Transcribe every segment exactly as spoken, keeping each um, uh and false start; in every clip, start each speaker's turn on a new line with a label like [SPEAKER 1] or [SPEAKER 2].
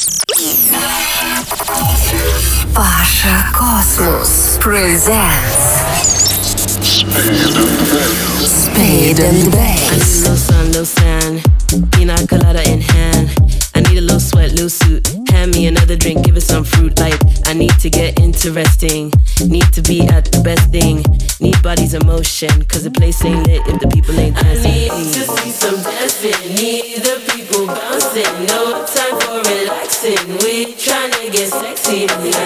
[SPEAKER 1] Pasha Cosmos presents Spade and Bass.
[SPEAKER 2] I need a little sun, little sand, pina colada in hand. I need a little sweat, little suit. Hand me another drink, give it some fruit. Like I need to get interesting, need to be at the best thing. Need bodies in motion, cause the place ain't lit if the people ain't dancing. I need to see some dancing, need the people bouncing. No time for relaxing, we tryna get sexy.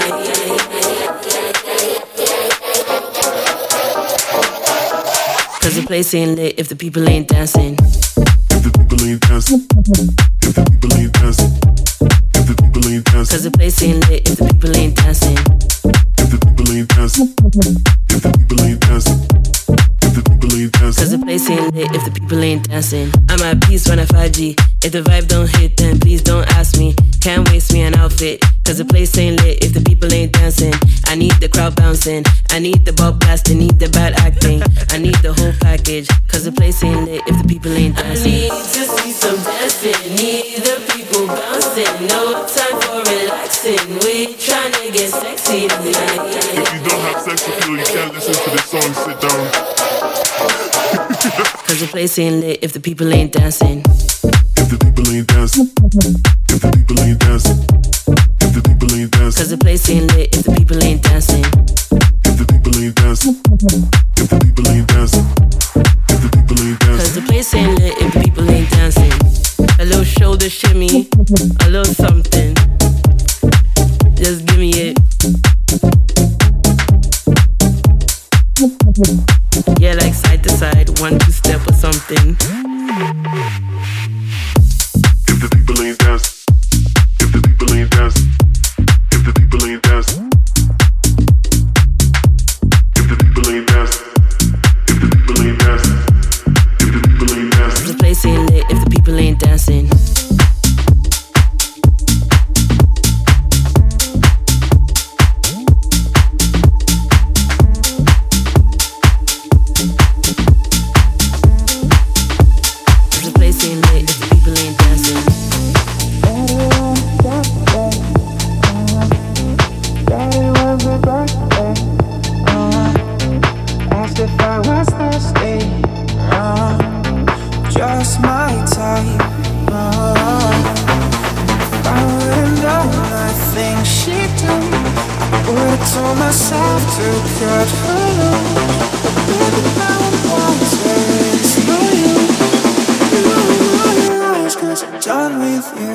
[SPEAKER 2] Cause the place ain't lit if the people ain't dancing.
[SPEAKER 3] If the people ain't dancing. If the people ain't dancing. If the people ain't dancing.
[SPEAKER 2] Cause the place ain't lit if the people ain't dancing.
[SPEAKER 3] If the people ain't dancing. If the people ain't dancing. If the people ain't dancing.
[SPEAKER 2] Cause the place ain't lit if the people ain't dancing. I'm at peace when I five G. If the vibe don't hit, then please don't ask me. Can't waste me an outfit. Cause the place ain't lit if the people ain't dancing. I need the crowd bouncing. I need the ball blasting. Need the bad acting. I need the whole package. Cause the place ain't lit if the people ain't dancing. I need to see some dancing. Need the people bouncing. No time for relaxing. We tryna get sexy tonight.
[SPEAKER 3] If you don't have sex appeal, you can't listen to this song. Sit down.
[SPEAKER 2] Cause the place ain't lit if the people ain't dancing.
[SPEAKER 3] If the people ain't dancing. If the people ain't dancing. If the people ain't dancing.
[SPEAKER 2] Cause the place ain't lit if the people ain't dancing.
[SPEAKER 3] If the people ain't dancing. If the people ain't dancing. If the people ain't dancing.
[SPEAKER 2] Cause the place ain't lit if the people ain't dancing. A little shoulder shimmy, a little something. Just give me it. Yeah, like side to side, one, two step or something.
[SPEAKER 3] If the people ain't dancing. If the people ain't dancing. If the people ain't dancing. If the people ain't dancing. If the people ain't dancing. If the people ain't dancing.
[SPEAKER 2] The place ain't lit if the people ain't dancing. The place ain't lit if the people ain't dancing.
[SPEAKER 4] Daddy was a birthday. Uh, asked if I was thirsty. Uh, just my type. Uh, if I would've known I think she'd do, I would've told myself to cut her loose. But baby, now I'm wanting for you. You know your eyes, cause I'm done with you.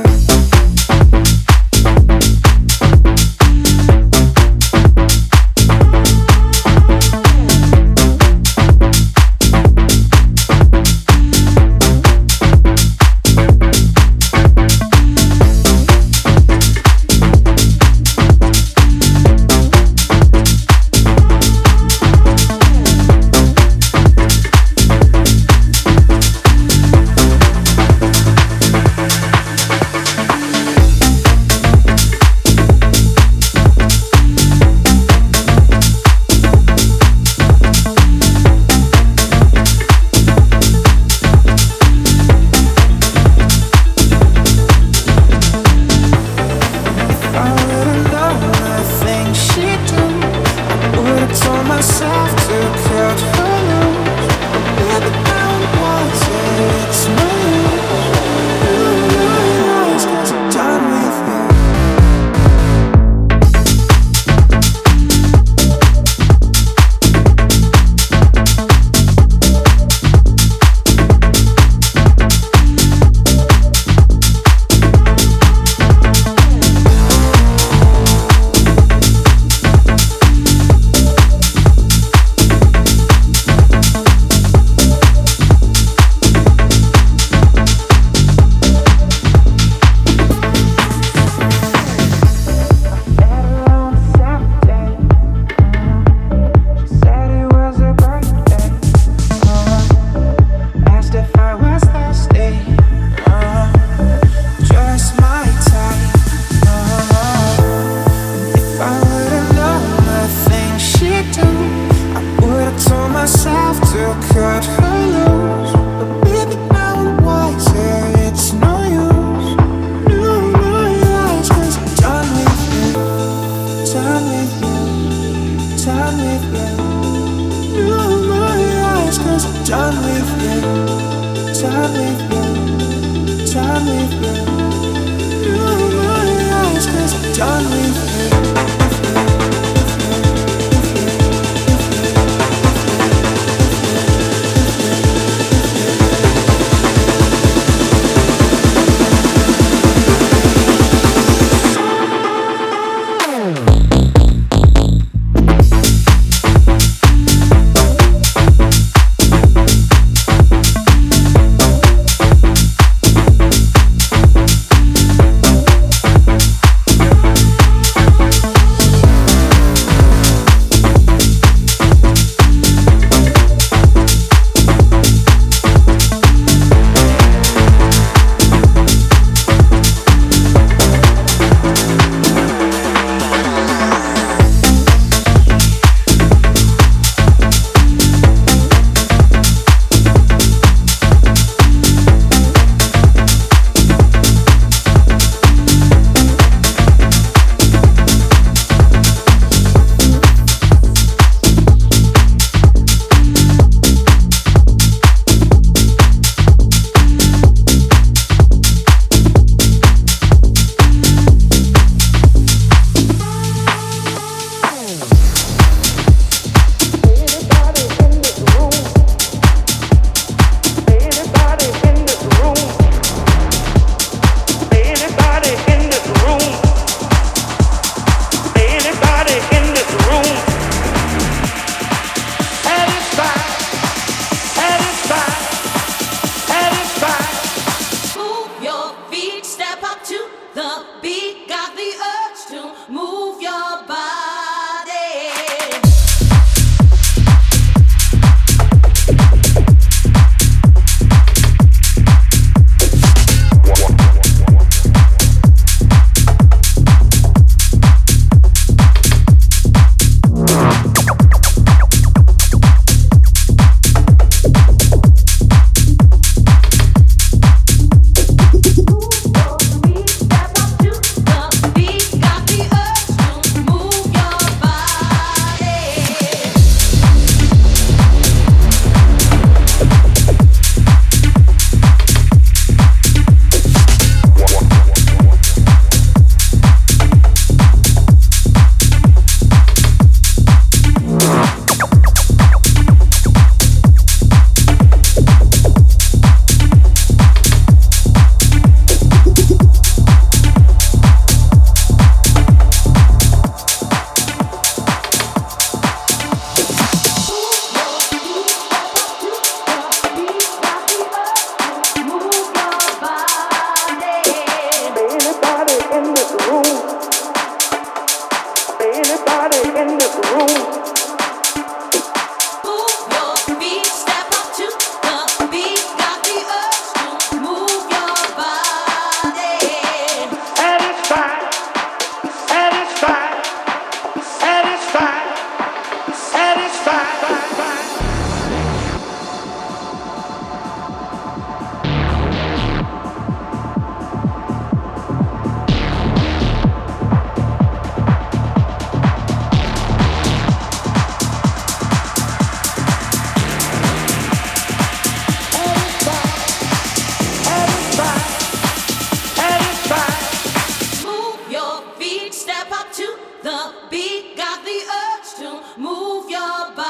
[SPEAKER 5] the beat, got the urge to move your body.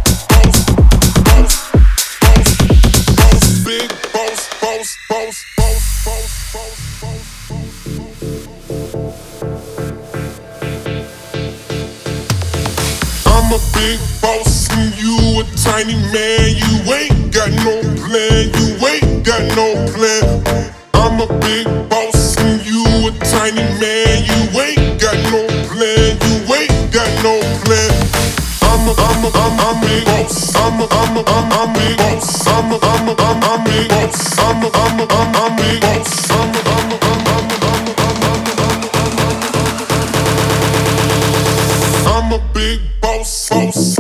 [SPEAKER 6] boss, boss.
[SPEAKER 3] plan. You ain't got no plan. I'm a big boss and you a tiny man. You ain't got no plan. You ain't got no plan. I'm a, I'm a, I'm a, I'm big boss. I'm a, I'm a, I'm, I'm big boss. I'm a, I'm a, I'm, I'm big boss. I'm a, I'm a, I'm, I'm big boss. I'm a, I'm a, I'm, I'm, I'm, I'm, I'm, I'm a big boss. Boss.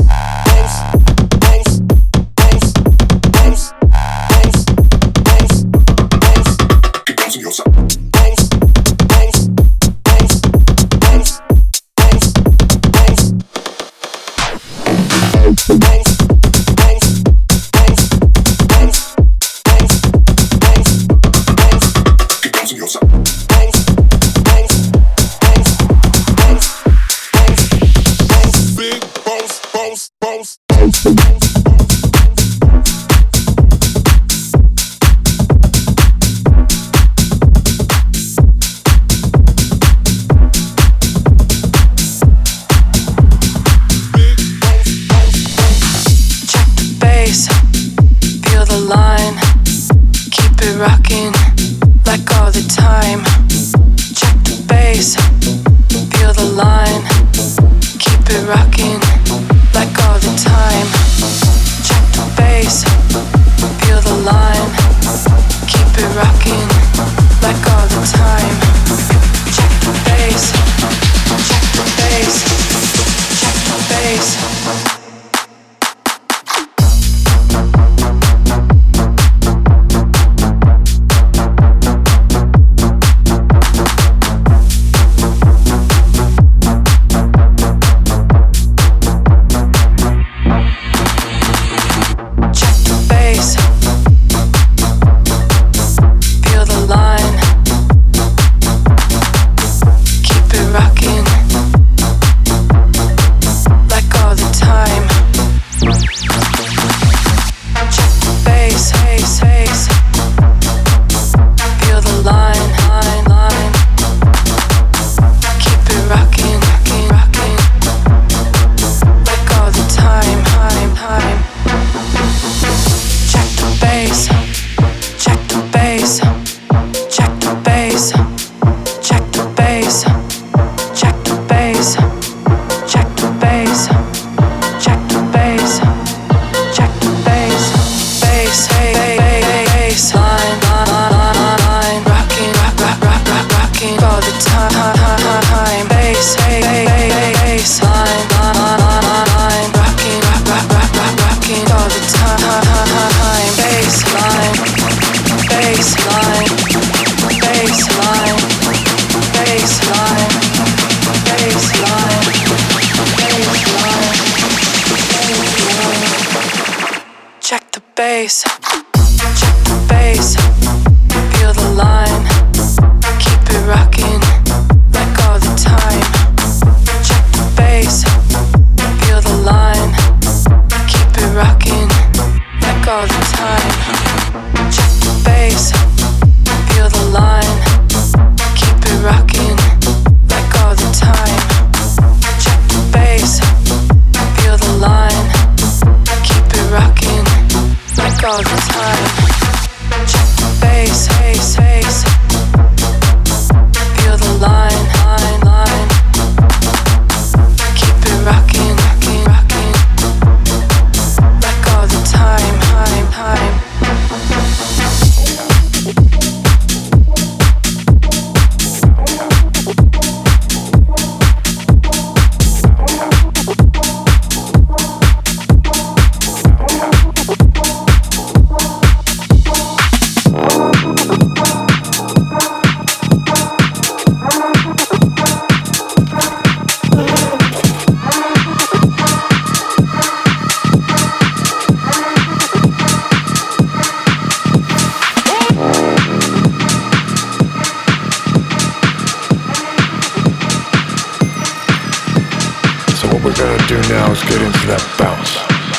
[SPEAKER 6] now is get into that bounce.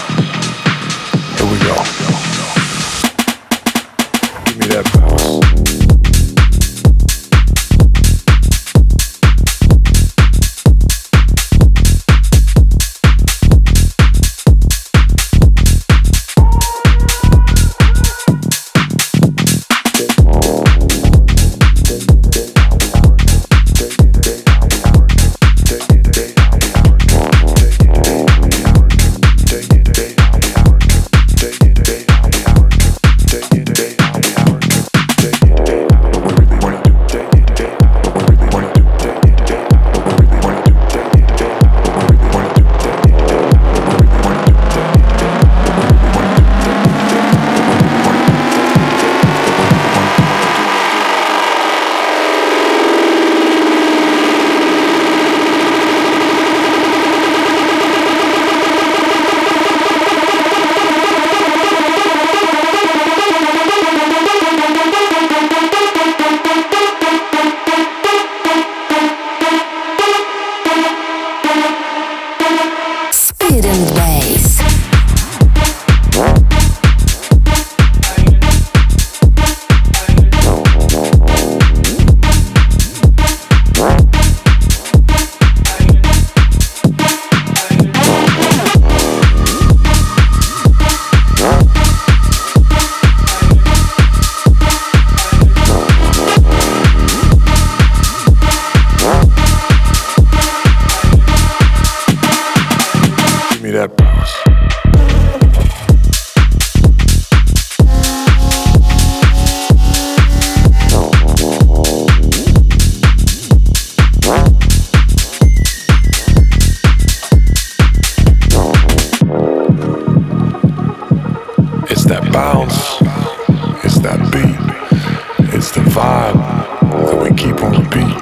[SPEAKER 6] Here we go. Give me that bounce. it's the vibe that we keep on repeat.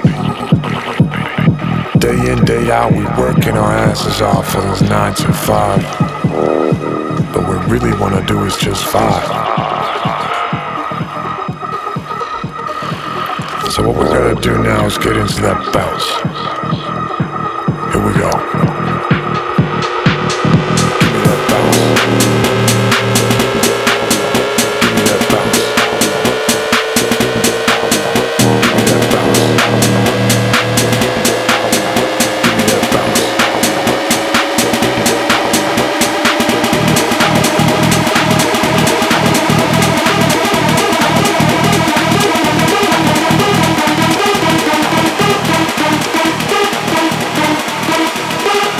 [SPEAKER 6] Day in, day out, we working our asses off for those nine to five. But what we really wanna do is just vibe. So what we're gonna do now is get into that bounce. Here we go. Give me that bounce.
[SPEAKER 3] We'll be right back.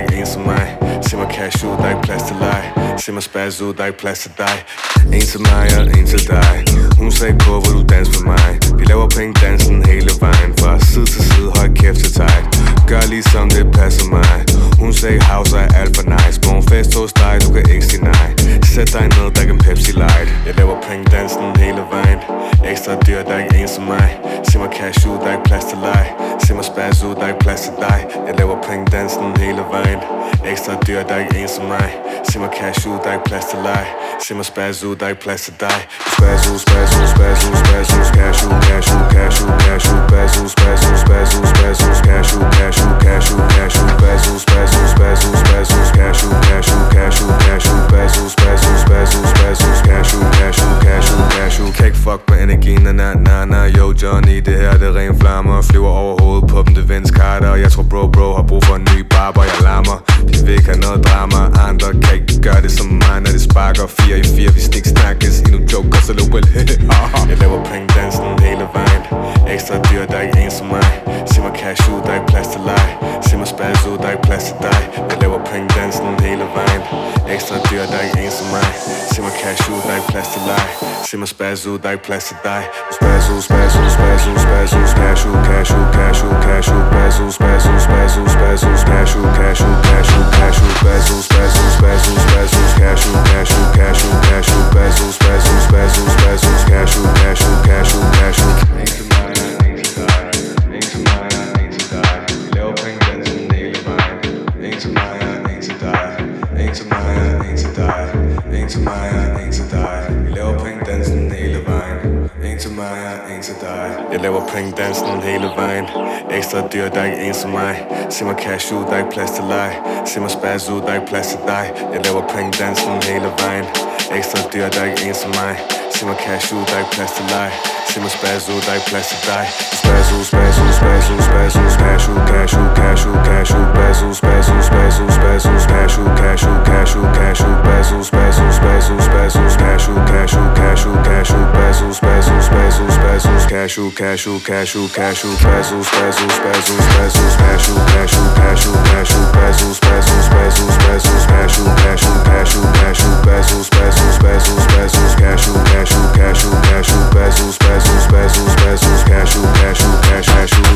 [SPEAKER 7] ikke en som mig. Se mig cash ud, der er ikke plads til leg. Se mig spaz ud, der er ikke plads til dig. En til mig og en til dig. Hun sagde på, hvor du danser med mig. Vi laver penge dansen hele vejen. Fra side til side, hold kæft til tight. Gør ligesom det passer mig. Hun sagde house er alt for nice. Morgenfest hos dig, du kan ikke sige nej. Sæt dig ned, der kan Pepsi Light. Jeg laver penge dansen hele vejen. Ekstra dyr, der er ikke en som mig. Se mig cash ud, der er ikke plads til leg. Se mig spaz ud, der er ikke plads til dig. Jeg laver penge dansen hele vejen. Ekstra dyr, der er ikke en som mig. Se mig cash ud, der er ikke plads til leg. Se mig spaz ud, der er ikke plads til dig. Spaz ud, spaz ud, spaz ud, spaz ud, cash ud, cash ud, cash ud, cash ud, spaz ud, spaz ud, spaz ud, spaz ud, cash ud, cash ud, cash ud, cash ud, spaz ud, spaz ud, spaz ud, spaz ud, cash ud, cash ud, cash ud, cash ud, spaz ud, spaz ud, spaz ud, spaz ud, cash ud, cash ud, cash ud, cash ud. Kan ikke fuck med energien, na na na na. Yo Johnny, det her det er ren flammer. Flyver over hovedet på dem, det Vince Carter. Jeg tror bro bro har brug for en ny barber. Jeg larmer, de vil ikke have noget drama. Andre kan ikke gøre det som mig, når det sparker. Fire i fire, vi snik snakkes. Endnu joker, så lå vel. Jeg laver penge dansen hele vejen. Ekstra dyr, der er ikke en som mig. Se mig cash ud, der er ikke plads til leg. Se mig spaz ud, der er ikke plads til dig. Jeg laver penge dansen hele vejen. Ekstra dyr, der er ikke en som mig. Se mig cash ud, der er ikke plads til leg. Se mig spaz ud, der er ikke plads til dig. Spaz ud, spaz ud, spaz ud, spaz ud, cash ud, cash ud, cash ud, cash ud, spaz ud, spaz ud, spaz ud, spaz ud, cash ud, cash ud, cash ud, cash ud, spaz ud, spaz ud, spaz ud, spaz ud, cash ud, cash ud, cash ud, cash ud, spaz ud, spaz ud, spaz ud, spaz ud, cash ud, cash ud, cash ud, cash ud. En til mig, en til dig, en til mig, en til dig. Vi laver penge dansen hele vejen. En til mig, en til dig, en til mig, en til dig, en til mig, en til dig. Vi laver penge dansen hele vejen. En til mig, en til dig. Jeg laver penge dansen hele vejen. Ekstra dyr, der er ikke en som mig. Se mig cash ud, der er ikke plads til leg. Se mig spaz ud, der er ikke plads til dig. Jeg laver penge dansen hele vejen. Ekstra dyr, der er ikke en som mig. Se mig cash ud, der er ikke plads til leg. Se mig spaz ud, der er ikke plads til dig. Spaz ud, spaz ud, spaz ud, spaz ud, cash ud, cash ud, cash ud, cash ud, spaz ud, spaz ud, spaz ud, spaz ud, cash ud, cash ud, cash ud, cash ud, spaz ud, spaz ud, spaz ud, spaz ud, cash ud, cash ud, cash ud, cash ud, spaz ud, spaz ud, spaz ud, spaz ud, cash ud, cash ud, cash ud, cash ud, spaz ud, spaz ud, spaz ud, spaz ud, cash ud, cash ud, cash ud, cash ud, spaz ud, spaz ud, spaz ud, spaz ud, cash ud, cash ud, cash ud, cash ud, spaz ud, spaz ud, spaz ud, spaz ud, cash ud, cash ud, cash ud, cash ud, spaz ud, spaz ud, spaz ud, spaz ud, cash ud, cash ud, cash, cash ud.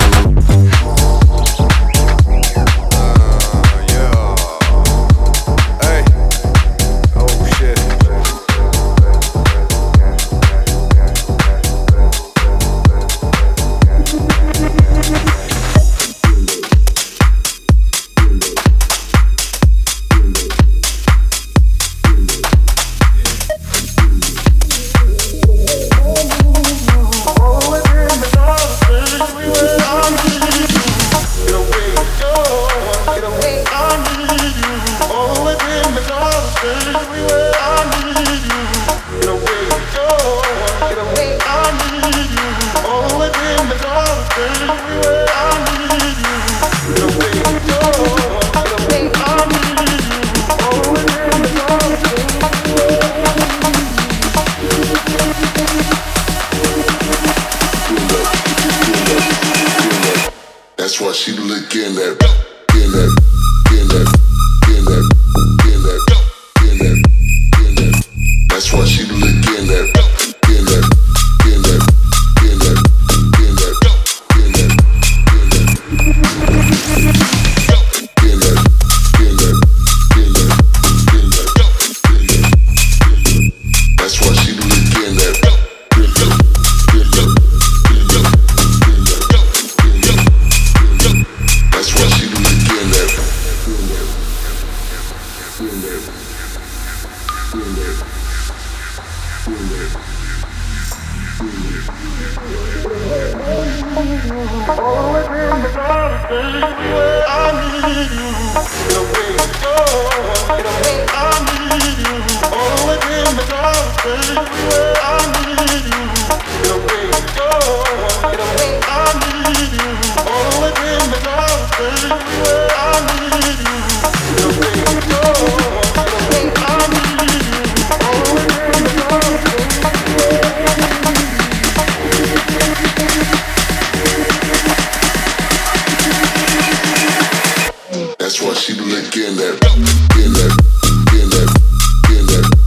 [SPEAKER 3] That's why she looking at, getting that, getting that, getting that, getting that, getting that, getting that. That's why she looking at, getting that, getting that, getting that, getting that, getting that, getting that, getting that, getting that, getting that, getting that, getting that. That's why she looking at, getting that, getting that, getting that, getting that, getting that. That's why she looking at,
[SPEAKER 8] Always in the dark, baby, I need you. Get away, go, get away, I need you. Always in the dark, baby, I need you. Get away, go, get away, I need you. Always in the dark, baby, I need you. Get away, go, get away, I need you. Always in the dark, baby.
[SPEAKER 3] that's why she looking in that, in that, in that, in that.